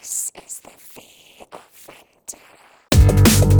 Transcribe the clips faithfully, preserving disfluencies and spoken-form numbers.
This is the V of Vendetta.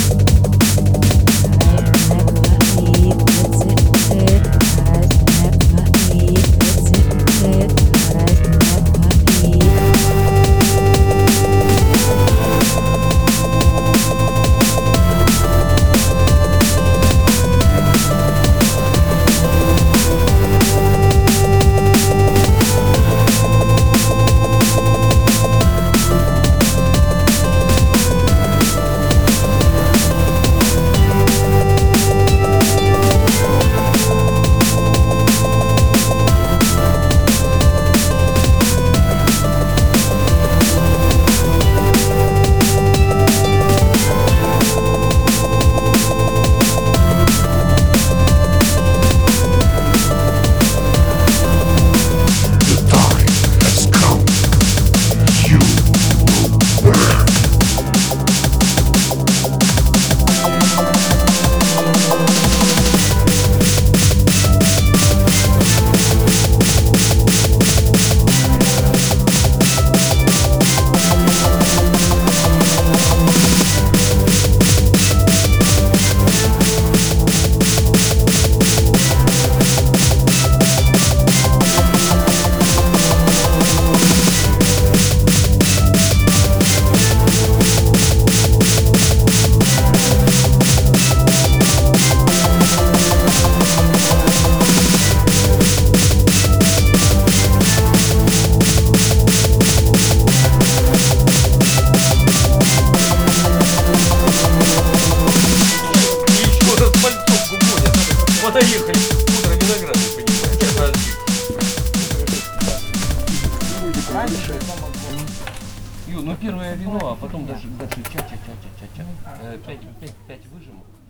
Понаехали утро винограда, понимаете? Раньше Ю, ну первое вино, а потом даже, даже ча-ча-ча-ча-ча-ча. Э, Пять, пять, пять выжимок.